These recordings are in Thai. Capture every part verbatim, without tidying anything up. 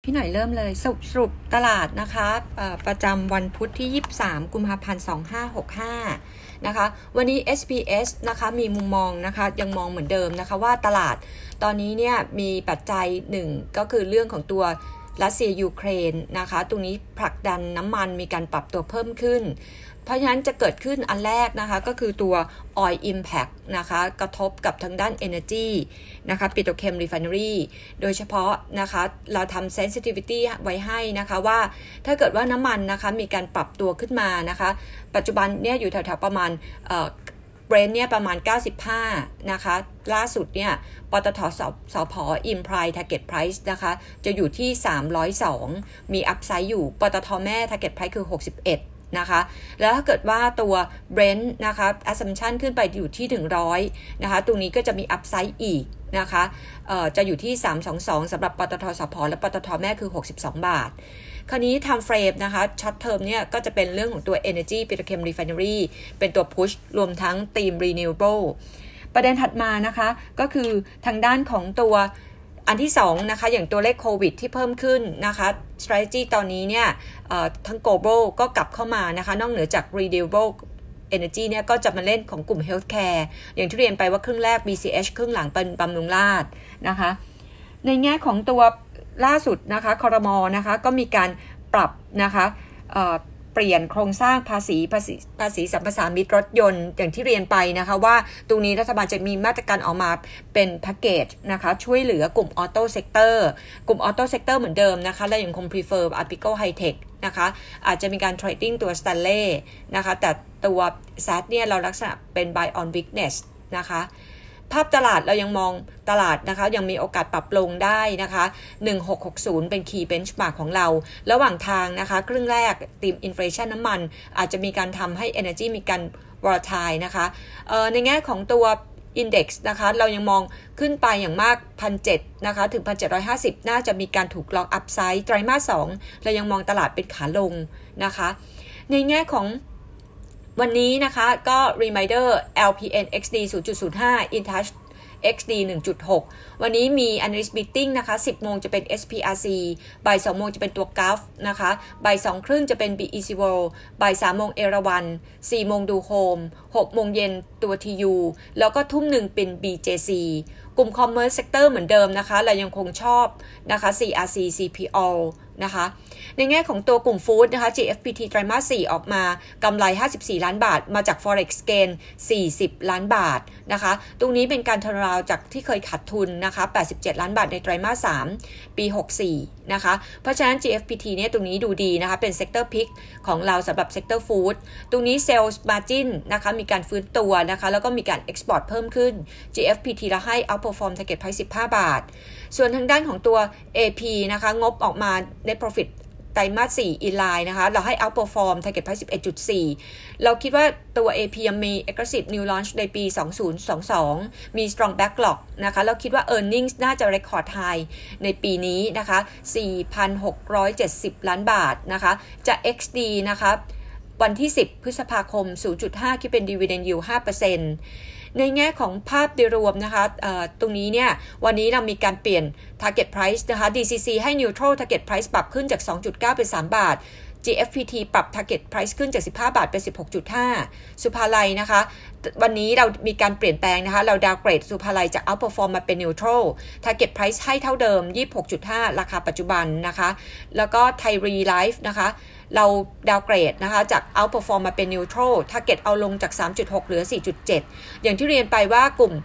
พี่หน่อยเริ่มเลยสรุปสรุปตลาดนะคะประจำวันพุธที่ยี่สิบสามกุมภาพันธ์สองพันห้าร้อยหกสิบห้านะคะวันนี้ เอส พี เอส นะคะมีมุมมองนะคะยังมองเหมือนเดิมนะคะว่าตลาดตอนนี้เนี่ยมีปัจจัยหนึ่งก็คือเรื่องของตัวรัสเซียยูเครนนะคะตรงนี้ผลักดันน้ำมันมีการปรับตัวเพิ่มขึ้นเพราะฉะนั้นจะเกิดขึ้นอันแรกนะคะก็คือตัว Oil Impact นะคะกระทบกับทางด้าน Energy นะคะ Petrochem Refinery โดยเฉพาะนะคะเราทำ sensitivity ไว้ให้นะคะว่าถ้าเกิดว่าน้ำมันนะคะมีการปรับตัวขึ้นมานะคะปัจจุบันเนี่ยอยู่แถวๆประมาณเอ่อ Brent เนี่ยประมาณเก้าสิบห้านะคะล่าสุดเนี่ยปตทสสผ Implied Target Price นะคะจะอยู่ที่สามร้อยสองมี Upside อยู่ปตทแม่ Target Price คือหกสิบเอ็ดนะคะแล้วถ้าเกิดว่าตัว Brent นะคะ assumption ขึ้นไปอยู่ที่ถึงหนึ่งร้อยนะคะตรงนี้ก็จะมี upside อีกนะคะเอ่อจะอยู่ที่สามร้อยยี่สิบสองสำหรับปตทสผและปตทแม่คือหกสิบสองบาทคราวนี้ time frame นะคะ short term เนี่ยก็จะเป็นเรื่องของตัว energy petrochem refinery เป็นตัว push รวมทั้ง theme renewable ประเด็นถัดมานะคะก็คือทางด้านของตัวอันที่สองนะคะอย่างตัวเลขโควิดที่เพิ่มขึ้นนะคะ strategy ตอนนี้เนี่ยทั้ง global ก็กลับเข้ามานะคะนอกเหนือจาก renewable energy เนี่ยก็จะมาเล่นของกลุ่ม healthcare อย่างที่เรียนไปว่าครึ่งแรก บี ซี เอช ครึ่งหลังเป็นบำรุงราษฎร์นะคะในแง่ของตัวล่าสุดนะคะครม.นะคะก็มีการปรับนะคะเอ่อเปลี่ยนโครงสร้างภาษีภาษีภาษีสัมปทานมิตรรถยนต์อย่างที่เรียนไปนะคะว่าตรงนี้รัฐบาลจะมีมาตรการออกมาเป็นแพ็กเกจนะคะช่วยเหลือกลุ่มออโต้เซกเตอร์กลุ่มออโต้เซกเตอร์เหมือนเดิมนะคะและยังคง prefer Article High Tech นะคะอาจจะมีการ trading ตัว Stanley นะคะแต่ตัว แซด เนี่ยเราลักษณะเป็น buy on weakness นะคะภาพตลาดเรายังมองตลาดนะคะยังมีโอกาสปรับลงได้นะคะหนึ่งพันหกร้อยหกสิบเป็น key benchmark ของเราระหว่างทางนะคะครึ่งแรกธีม inflation น้ำมันอาจจะมีการทำให้ energy มีการ volatile นะคะเอ่อในแง่ของตัว index นะคะเรายังมองขึ้นไปอย่างมาก หนึ่งพันเจ็ดร้อย นะคะถึง หนึ่งพันเจ็ดร้อยห้าสิบ น่าจะมีการถูกล็อก upside ไตรมาสสองเรายังมองตลาดเป็นขาลงนะคะในแง่ของวันนี้นะคะก็ reminder แอล พี เอ็น เอ็กซ์ ดี ศูนย์จุดศูนย์ห้า InTouch เอ็กซ์ ดี หนึ่งจุดหก วันนี้มี analyst meeting นะคะ สิบโมงจะเป็น เอส พี อาร์ ซี บ่ายสองโมงจะเป็นตัว จี เอ เอฟ นะคะบ่ายสองครึ่งจะเป็น บี อี ซี World บ่ายสามโมงเอราวัณสี่โมงดูโฮมหกโมงเย็นตัว ที ยู แล้วก็ทุ่มหนึ่งเป็น บี เจ ซี กลุ่ม commerce sector เหมือนเดิมนะคะเรายังคงชอบนะคะ ซี อาร์ ซี ซี พี โอ นะคะในแง่ของตัวกลุ่มฟู้ดนะคะ จี เอฟ พี ที ไตรมาสสี่ออกมากำไรห้าสิบสี่ล้านบาทมาจาก Forex gain สี่สิบล้านบาทนะคะตรงนี้เป็นการ turnaround จากที่เคยขาดทุนนะคะแปดสิบเจ็ดล้านบาทในไตรมาสสามปีหกสิบสี่นะคะเพราะฉะนั้น จี เอฟ พี ที เนี่ยตรงนี้ดูดีนะคะเป็น sector pick ของเราสำหรับ sector food ตรงนี้ sales margin นะคะมีการฟื้นตัวนะคะแล้วก็มีการ export เพิ่มขึ้น จี เอฟ พี ที เราให้ outperform target price สิบห้าบาทส่วนทางด้านของตัว เอ พี นะคะงบออกมา net profit ไตรมาสสี่ in line นะคะเราให้ outperform target price สิบเอ็ดจุดสี่ เราคิดว่าตัว เอ พี ยังมี aggressive new launch ในปีสองพันยี่สิบสองมี strong backlog นะคะเราคิดว่า earnings น่าจะ record high ในปีนี้นะคะ สี่พันหกร้อยเจ็ดสิบล้านบาทนะคะจะ เอ็กซ์ ดี นะคะวันที่สิบพฤษภาคม ศูนย์จุดห้า คิดเป็น dividend yield ห้าเปอร์เซ็นต์ ในแง่ของภาพโดยรวมนะคะตรงนี้เนี่ยวันนี้เรามีการเปลี่ยน target price นะคะ ดี ซี ซี ให้ neutral target price ปรับขึ้นจาก สองจุดเก้า เป็นสามบาท จี เอฟ พี ที ปรับ target price ขึ้นจากสิบห้าบาทเป็น สิบหกจุดห้า สุภาลัยนะคะวันนี้เรามีการเปลี่ยนแปลงนะคะเราดาวเกรดสุภาลัยจาก outperform มาเป็น neutral target price ให้เท่าเดิม ยี่สิบหกจุดห้า ราคาปัจจุบันนะคะแล้วก็ไทยรีไลฟ์นะคะเราดาวเกรดนะคะจาก outperform มาเป็น neutral target เอาลงจาก สามจุดหก เหลือ สี่จุดเจ็ด อย่างที่เรียนไปว่ากลุ่ม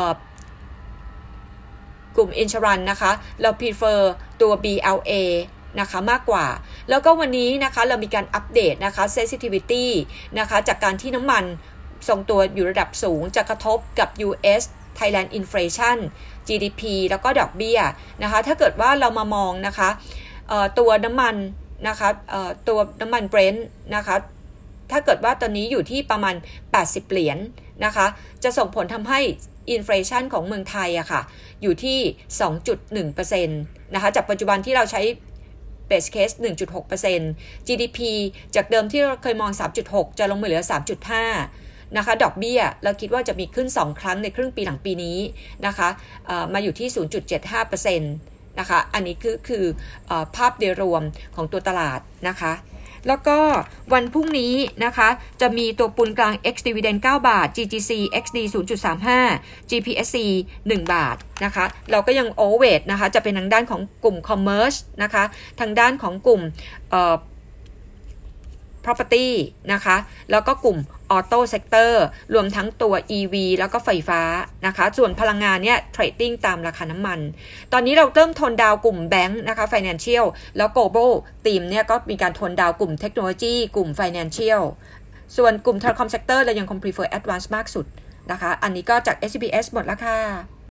กลุ่ม insurance นะคะเรา prefer ตัว บี แอล เอ นะคะมากกว่าแล้วก็วันนี้นะคะเรามีการอัปเดตนะคะ sensitivity นะคะจากการที่น้ำมันทรงตัวอยู่ระดับสูงจะกระทบกับ ยู เอส Thailand inflation จี ดี พี แล้วก็ดอกเบี้ยนะคะถ้าเกิดว่าเรามามองนะคะตัวน้ำมันนะคะตัวน้ำมัน Brent นะคะถ้าเกิดว่าตอนนี้อยู่ที่ประมาณแปดสิบเหรียญนะคะจะส่งผลทำให้อินเฟลชันของเมืองไทยอะค่ะอยู่ที่ สองจุดหนึ่งเปอร์เซ็นต์ นะคะจากปัจจุบันที่เราใช้ base case หนึ่งจุดหกเปอร์เซ็นต์ จี ดี พี จากเดิมที่เราเคยมอง สามจุดหก จะลงมาเหลือ สามจุดห้า นะคะดอกเบี้ยเราคิดว่าจะมีขึ้นสองครั้งในครึ่งปีหลังปีนี้นะคะมาอยู่ที่ ศูนย์จุดเจ็ดห้าเปอร์เซ็นต์นะคะอันนี้คือคือเอ่อภาพโดยรวมของตัวตลาดนะคะแล้วก็วันพรุ่งนี้นะคะจะมีตัวปูนกลาง X Dividend เก้าบาท จี จี ซี เอ็กซ์ ดี ศูนย์จุดสามห้า จี พี เอส ซี หนึ่งบาทนะคะเราก็ยัง overweight นะคะจะเป็นทางด้านของกลุ่ม commerce นะคะทางด้านของกลุ่มเอ่อ property นะคะแล้วก็กลุ่ม auto sector รวมทั้งตัว อี วี แล้วก็ไฟฟ้านะคะส่วนพลังงานเนี่ย trading ตามราคาน้ำมันตอนนี้เราเริ่มทนดาวกลุ่มแบงค์นะคะ financial แล้ว global ทีมเนี่ยก็มีการทนดาวกลุ่มเทคโนโลยีกลุ่ม financial ส่วนกลุ่ม telecom sector เรายังคง prefer advance มากสุดนะคะอันนี้ก็จาก เอส บี เอส หมดแล้วค่ะ